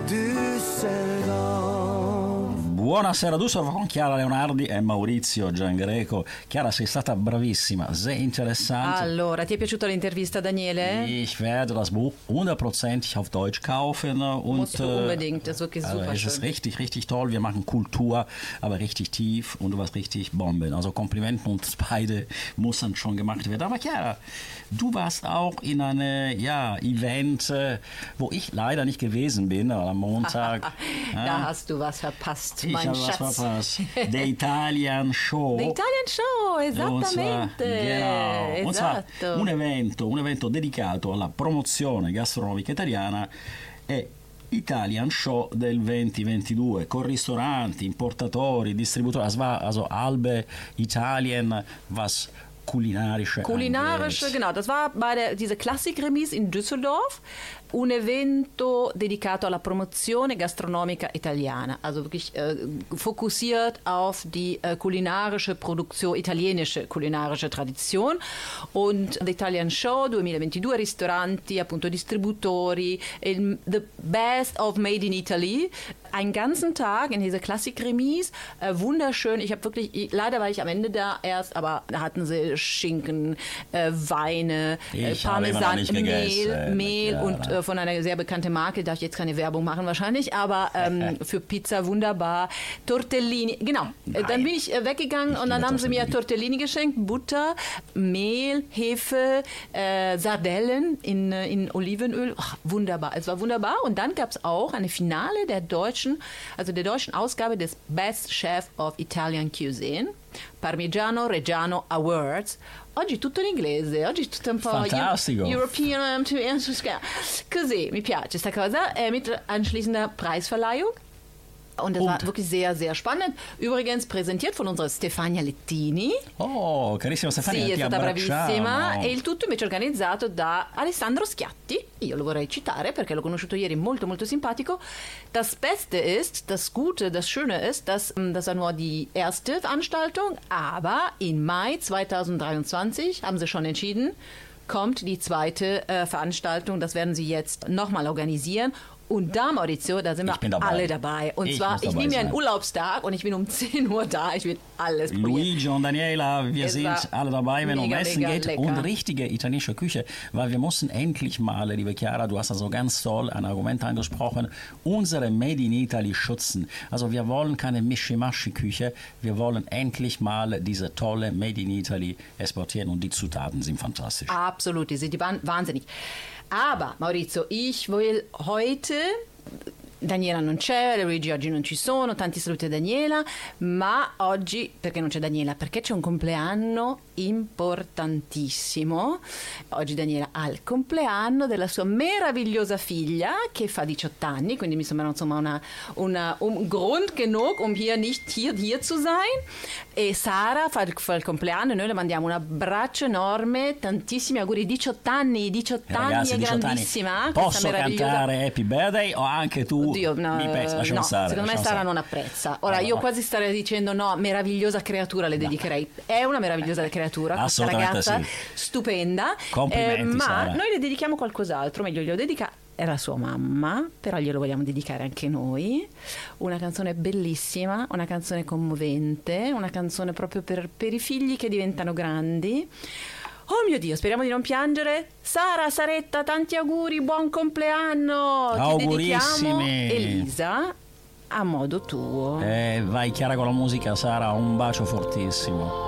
Düsseldorf. Buonasera Düsseldorf con Chiara Leonardi e Maurizio Giangreco. Chiara, sei stata bravissima, sehr interessant. Allora, ti è piaciuta l'intervista, Daniele? Ich werde das Buch hundertprozentig auf Deutsch kaufen. Und, Musst du unbedingt, das ist wirklich also super es schön. ist richtig, richtig toll. Wir machen Kultur, aber richtig tief und du warst richtig Bomben. Also Komplimenten uns beide müssen schon gemacht werden. Aber Chiara, du warst auch in einem ja, Event, wo ich leider nicht gewesen bin, am Montag. Da ja. hast du was verpasst, Ich mein habe was Schatz. verpasst. The Italian Show. The Italian Show, esattamente. Und zwar, genau. Und zwar Esatto. un evento, un evento dedicato alla promozione gastronomica italiana e Italian Show del duemilaventidue con ristoranti, importatori, distributori. Das war also Albe Italien, was kulinarische Kulinarische, genau. Das war bei der, diese Klassikremise in Düsseldorf. Un evento dedicato alla promozione gastronomica italiana, also wirklich äh, fokussiert auf die äh, kulinarische Produktion, italienische kulinarische Tradition. Und The Italian Show duemilaventidue, ristoranti, appunto distributori, il, the best of Made in Italy. Einen ganzen Tag in dieser Klassikremise, äh, wunderschön. Ich habe wirklich, ich, leider war ich am Ende da erst, aber da hatten sie Schinken, äh, Weine, äh, Ich habe immer noch Parmesan, nicht Mehl, gegessen. Mehl Ja, und äh, von einer sehr bekannten Marke, darf ich jetzt keine Werbung machen wahrscheinlich, aber ähm, für Pizza wunderbar. Tortellini, genau. Äh, dann bin ich äh, weggegangen Ich und dann liebe haben sie mir Tortellini. Tortellini geschenkt, Butter, Mehl, Hefe, äh, Sardellen in, äh, in Olivenöl. Ach, wunderbar, es war wunderbar. Und dann gab es auch eine Finale der deutschen, also der deutschen Ausgabe des Best Chef of Italian Cuisine, Parmigiano Reggiano Awards. Oggi tutto in inglese, oggi tutto un po' Fantastico. European, così, mi piace sta cosa, äh, mit anschließender Preisverleihung. Und das Und- war wirklich sehr, sehr spannend. Übrigens präsentiert von unserer Stefania Lettini. Oh, carissima Stefania, Sì, è ti stata bravissima. abbracciamo. E il tutto invece organizzato da Alessandro Schiatti. Io lo vorrei citare perché l'ho conosciuto ieri, molto, molto simpatico. Das Beste ist, das Gute, das Schöne ist, dass ähm, das war nur die erste Veranstaltung, aber im Mai zweitausenddreiundzwanzig haben sie schon entschieden, kommt die zweite äh, Veranstaltung. Das werden sie jetzt nochmal organisieren. Und da, Maurizio, da sind Ich wir bin dabei. alle dabei. Und Ich zwar, muss ich dabei nehme mir einen sein. Urlaubstag und ich bin um zehn Uhr da. Ich will alles probieren. Luigi und Daniela, wir Es sind war alle dabei, wenn es um mega, Essen mega geht lecker. und richtige italienische Küche, weil wir müssen endlich mal, liebe Chiara, du hast also ganz toll ein Argument angesprochen, unsere Made in Italy schützen. Also wir wollen keine Mischimaschi-Küche, wir wollen endlich mal diese tolle Made in Italy exportieren und die Zutaten sind fantastisch. Absolut, die sind die waren wahnsinnig. Aber, Maurizio, ich will heute... Daniela non c'è, Luigi oggi non ci sono, tanti saluti a Daniela, ma oggi, perché non c'è Daniela? Perché c'è un compleanno importantissimo. Oggi Daniela ha il compleanno della sua meravigliosa figlia che fa diciotto anni, quindi mi sembra insomma una, una, un Grund genug, um hier nicht hier, hier zu sein. E Sara fa il, fa il compleanno e noi le mandiamo un abbraccio enorme, tantissimi auguri, diciotto anni, diciotto eh, ragazzi, anni, è diciotto grandissima. Anni. Posso cantare Happy Birthday o anche tu? Oddio, no, mi pensi, lasciamo no, stare, secondo me Sara stare. non apprezza. Ora, no, io no. quasi starei dicendo no, meravigliosa creatura le dedicherei. È una meravigliosa creatura, questa ragazza sì. stupenda. Complimenti, eh, ma Sara. noi le dedichiamo qualcos'altro, meglio glielo dedica è la sua mamma, però glielo vogliamo dedicare anche noi. Una canzone bellissima, una canzone commovente, una canzone proprio per, per i figli che diventano grandi. Oh mio Dio, speriamo di non piangere. Sara, Saretta, tanti auguri, buon compleanno. Augurissimi. Ti dedichiamo Elisa a modo tuo. Eh, vai Chiara con la musica, Sara, un bacio fortissimo.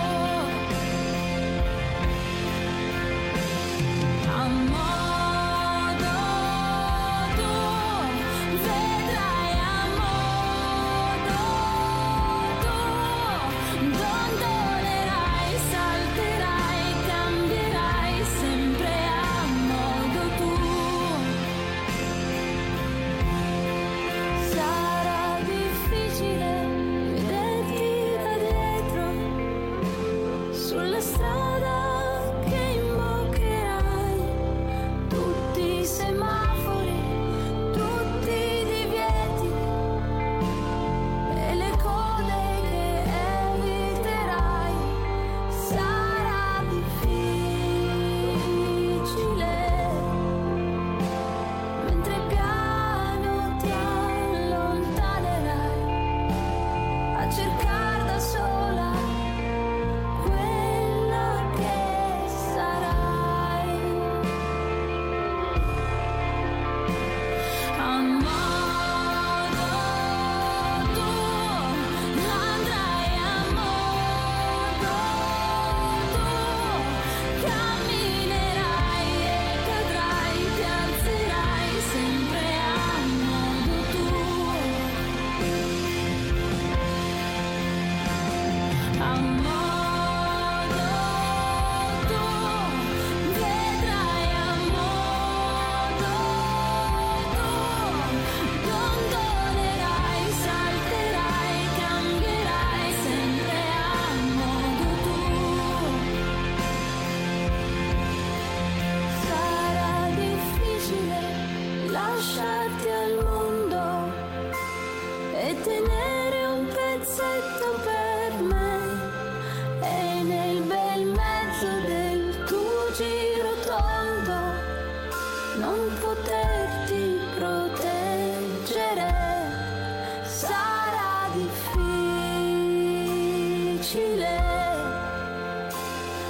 Amor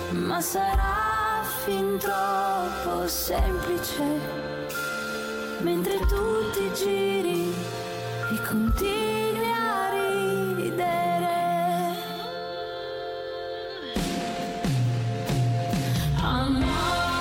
ma sarà fin troppo semplice, mentre tu ti giri e continui a ridere. Amore.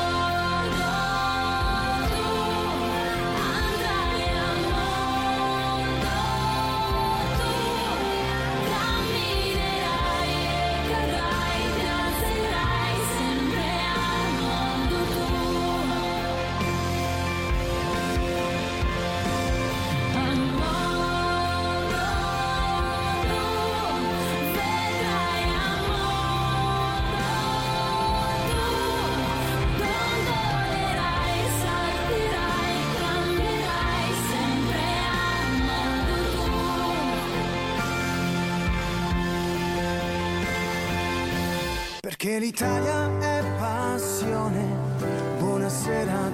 Perché l'Italia è passione. Buonasera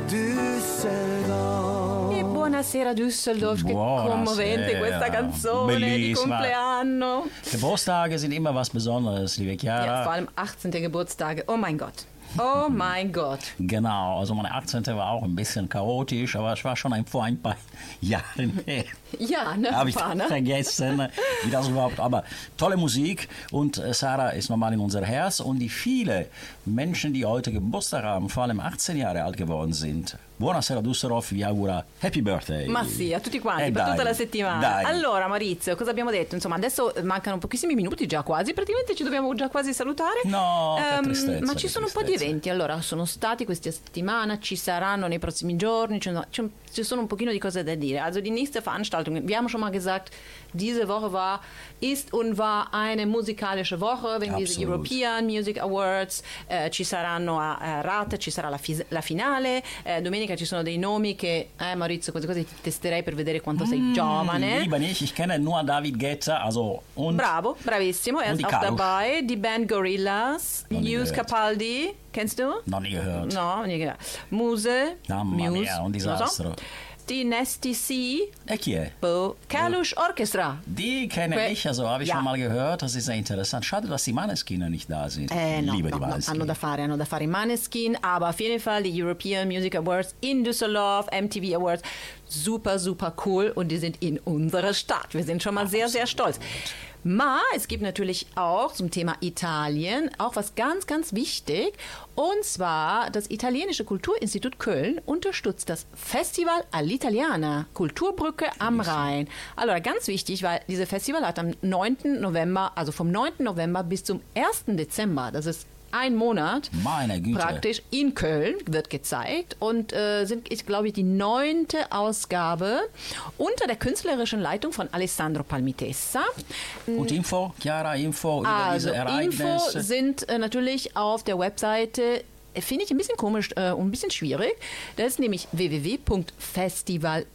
Düsseldorf. E buonasera Düsseldorf, che Buonasera. commovente questa canzone Bellissima. di compleanno. Geburtstage sind immer was Besonderes, liebe Chiara. Ja, vor allem achtzehnte Geburtstage. Oh mein Gott. Oh mein Gott. Genau, also meine achtzehnte war auch ein bisschen chaotisch, aber es war schon ein, vor ein paar Jahren her. Ja, ne? Habe ich Paar, ne? vergessen, wie das überhaupt, aber tolle Musik und äh, Sarah ist nochmal in unser Herz und die viele Menschen, die heute Geburtstag haben, vor allem achtzehn Jahre alt geworden sind. Buonasera Düsseldorf, vi augura Happy Birthday. Ma sì, a tutti quanti, Eh, per dai, tutta la settimana. dai. Allora Maurizio, cosa abbiamo detto? Insomma, adesso mancano pochissimi minuti già quasi, praticamente ci dobbiamo già quasi salutare. No, che Ehm, tristezza, ma ci che sono un po' di tristezza. eventi, allora sono stati questa settimana, ci saranno nei prossimi giorni, ci sono, ci sono un pochino di cose da dire. Also die nächste Veranstaltung, wir haben schon mal gesagt, diese Woche war, ist und war eine musikalische Woche, wenn diese Absolut. European Music Awards, eh, ci saranno a, a Rate, ci sarà la, fis- la finale, eh, domenica ci sono dei nomi che, eh Maurizio, queste cose ti testerei per vedere quanto sei giovane. Lieber nicht, ich kenne nur David Guetta, also und Bravo, bravissimo, er Und ist die auch Karusch. dabei, die Band Gorillas, Noch nie Yus gehört. Capaldi, kennst du? noch nie gehört. No, nie gehört. Muse, Mamma Muse, mia, un non so. disastro. Die Nasty C, E chi è? Bo, Kalush Orchestra. Die kenne Que- ich, also habe ich Ja. schon mal gehört, das ist sehr interessant. Schade, dass die Maneskin nicht da sind. Eh, no, Liebe no, die no, Maneskin. hanno da fare, hanno da fare i Maneskin, aber auf jeden Fall die European Music Awards in Düsseldorf, M T V Awards, super, super cool und die sind in unserer Stadt. Wir sind schon mal sehr, sehr stolz. Ma, es gibt natürlich auch zum Thema Italien auch was ganz, ganz wichtig. Und zwar das Italienische Kulturinstitut Köln unterstützt das Festival all'Italiana, Kulturbrücke am Rhein. Allora, ganz wichtig, weil dieses Festival hat am neunten November, also vom neunten November bis zum ersten Dezember, das ist ein Monat, Meine Güte. praktisch in Köln wird gezeigt und äh, sind, ich glaube, die neunte Ausgabe unter der künstlerischen Leitung von Alessandro Palmitessa. Und Info, Chiara, Info über Also diese Info Ereignisse. sind äh, natürlich auf der Webseite, äh, finde ich ein bisschen komisch äh, und ein bisschen schwierig. Das ist nämlich w w w punkt festival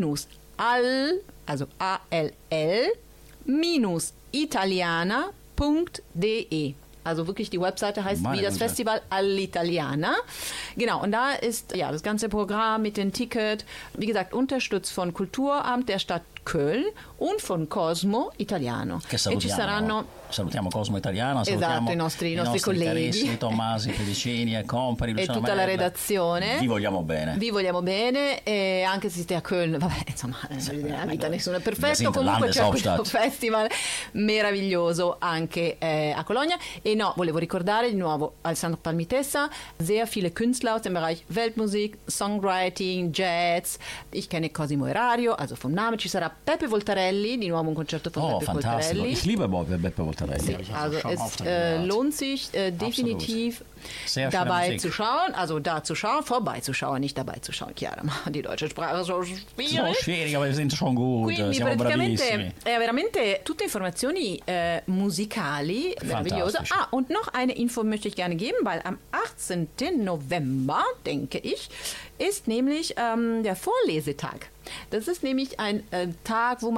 all, also A L L, minus italiana punkt de. Also wirklich die Webseite heißt Meine wie das Güte. Festival all'Italiana. Genau, und da ist ja das ganze Programm mit dem Ticket, wie gesagt, unterstützt von Kulturamt der Stadt Köln und von Cosmo Italiano. Che E ci salutiamo, saranno salutiamo Cosmo Italiano, Esatto, salutiamo i nostri- i nostri nostri colleghi. carissimi Tommasi, Felicini e compari, e Luciano tutta la Merla. redazione. Vi vogliamo bene. Vi vogliamo bene e anche se siete a Köln, vabbè, insomma, eh, voglio dire, la vita nessuno è Wir perfetto, sind comunque c'è questo Landeshauptstadt. festival meraviglioso anche eh, a Colonia. E no, volevo ricordare di nuovo Alessandro Palmitessa, sehr viele Künstler aus dem Bereich Weltmusik, Songwriting, Jazz. Ich kenne Cosimo Erario, also vom Namen ci sarà Peppe Voltarelli, di nuovo un concerto von Oh, Peppe fantastico. Voltarelli. Ich liebe Bob- Beppe Voltarelli. Sì, Hab ich also schon es oft äh, gehört. lohnt sich äh, definitiv Sehr schöne dabei Musik. zu schauen, also da zu schauen, vorbeizuschauen, nicht dabei zu schauen. Chiara, ma die deutsche Sprache ist so So schwierig. schwierig, aber wir sind schon gut, Quindi siamo praticamente bravissimi. è veramente tutte informazioni äh, musicali, meravigliose. Fantastisch. Ah, und noch eine Info möchte ich gerne geben, weil am achtzehnten November, denke ich, ist nämlich ähm, der Vorlesetag. Das ist nämlich ein äh, Tag, wo man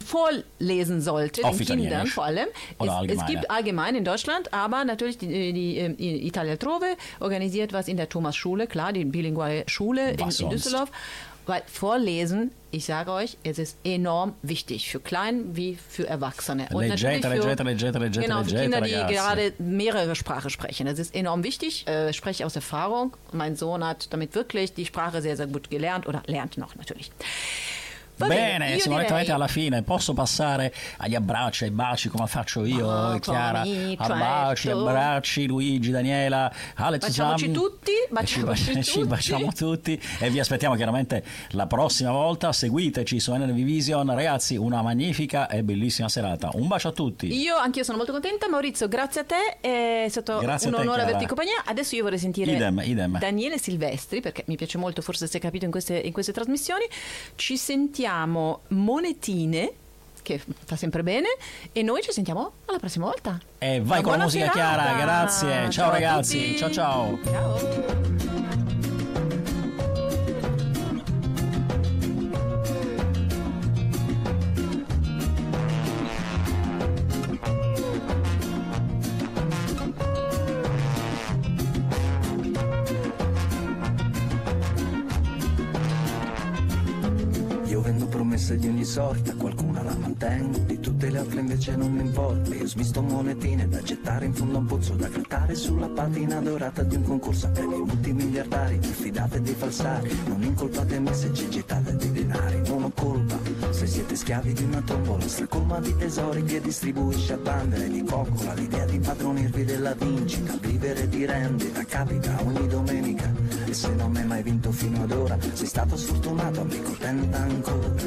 vorlesen sollte, Auf den Kindern Italienisch. vor allem. Oder Es, es allgemein, gibt ja. allgemein in Deutschland, aber natürlich die, die, die Italia Altrove organisiert was in der Thomas-Schule, klar, die bilinguale Schule in, in sonst? Düsseldorf. Weil Vorlesen, ich sage euch, es ist enorm wichtig für Klein wie für Erwachsene. Und Leggete, natürlich für, leggete, leggete, leggete, genau, für leggete, Kinder, die ragazzi. gerade mehrere Sprachen sprechen. Das ist enorm wichtig. Äh, Ich spreche aus Erfahrung. Mein Sohn hat damit wirklich die Sprache sehr, sehr gut gelernt oder lernt noch natürlich. Va Bene, io siamo direi- direttamente alla fine. Posso passare agli abbracci, ai baci come faccio io, Ah, Chiara? come Abbracci, certo. abbracci, Luigi, Daniela, Alex, Baciamoci Sam. tutti, E ci, baciamoci ba- ci tutti. baciamo tutti e vi aspettiamo chiaramente la prossima volta. Seguiteci su N R V Vision. Ragazzi, una magnifica e bellissima serata. Un bacio a tutti. Io anch'io sono molto contenta. Maurizio, grazie a te, è stato Grazie a un te, onore Chiara. averti in compagnia. Adesso io vorrei sentire Idem, idem. Daniele Silvestri, perché mi piace molto, forse si è capito in queste, in queste trasmissioni. Ci sentiamo monetine, che fa sempre bene, e noi ci sentiamo alla prossima volta. E vai Una con la buona musica, serata. Chiara. Grazie. Ciao, a ragazzi. tutti. Ciao, ciao. Ciao. Io vendo promesse di ogni sorta, qualcuna la mantengo, di tutte le altre invece non mi importa. Io smisto monetine da gettare in fondo a un pozzo, da grattare sulla patina dorata di un concorso a premi multimiliardari. Diffidate dei falsari, non incolpate me se ci gettate dei denari. Non ho colpa se siete schiavi di una tombola stracolma di tesori che distribuisce a bandere di coccola. L'idea di impadronirvi della vincita, vivere di rendita capita ogni domenica. E se non hai mai vinto fino ad ora, sei stato sfortunato, amico, tenta ancora.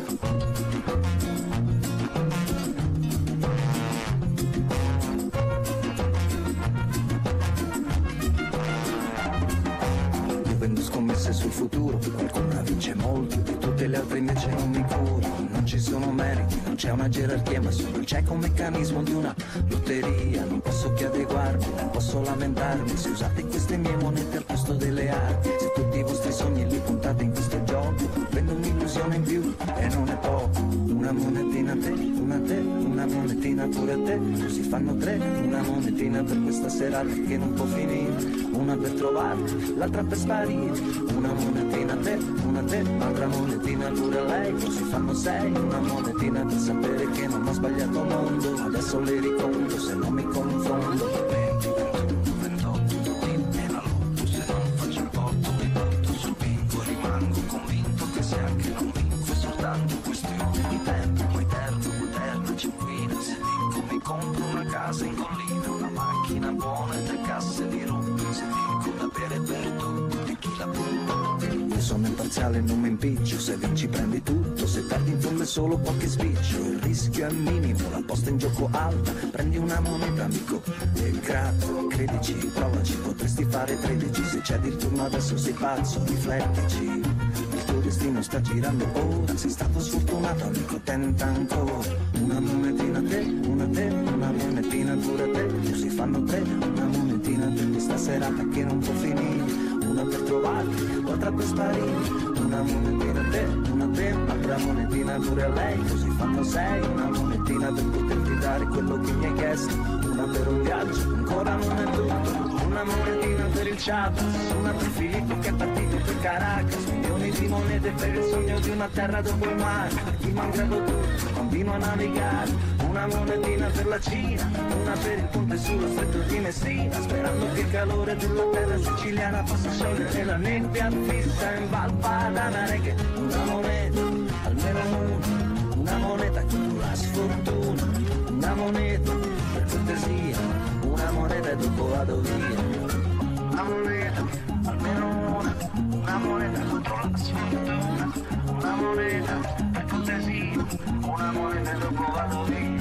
Io vendo scommesse sul futuro, qualcuna vince molto, di tutte le altre invece non mi curo. Non ci sono meriti, non c'è una gerarchia, ma solo il cieco meccanismo di una lotteria. Non posso che adeguarmi, non posso lamentarmi se usate queste mie monete al posto delle armi. Se tutti i vostri sogni li puntate in questo gioco, vendo un'illusione in più e non è poco. Una monetina a te, una a te, una monetina pure a te, così fanno tre. Una monetina per questa serata che non può finire, una per trovarti, l'altra per sparire. Una monetina a te, una a te, un'altra monetina pure a lei, così fanno sei. Una monetina per sapere che non ho sbagliato mondo, adesso le riconto se non mi confondo. venti, ventuno, ventotto, tutti nella lotto, se non faccio il porto mi porto sul bingo, rimango convinto che se anche non vinco è soltanto questione di tempo, poi eterno, eterna cinquina, se vinco mi compro una casa in collina, una macchina buona e tre casse di rum, se vinco da bere per tutti e chi la punta. Io sono imparziale e non mi impiccio, se vinci prendi tutto, se perdi in fondo è solo qualche spiccio, il rischio è minimo, la posta in gioco alta, prendi una moneta amico e grazie, credici, provaci, potresti fare tredici, se c'è il turno adesso sei pazzo, riflettici, il tuo destino sta girando ora, sei stato sfortunato amico, tenta ancora, una monetina a te, una a te, una monetina pure a te, così fanno tre, una monetina per questa serata che non può finire. Una per trovarti, l'altra per sparire. Una monetina a te, una a te, un'altra monetina pure a lei, così fanno sei. Una monetina per poterti dare quello che mi hai chiesto. Una per un viaggio, ancora non è tutto. Una monetina per il Chiapas, una per Filippo che è partito per Caracas. Milioni di monete per il sogno di una terra dopo il mare. Per chi malgrado tutto continua a navigare. Una monetina per la Cina, una per il ponte sullo stretto di Messina, sperando che il calore della terra siciliana possa sciogliere la nebbia fissa in Val Padana. Che una moneta, almeno una, una moneta contro la sfortuna, una moneta per cortesia, una moneta e dopo vado via. Una moneta, almeno una, una moneta contro la sfortuna, una moneta per cortesia, una moneta e dopo vado via.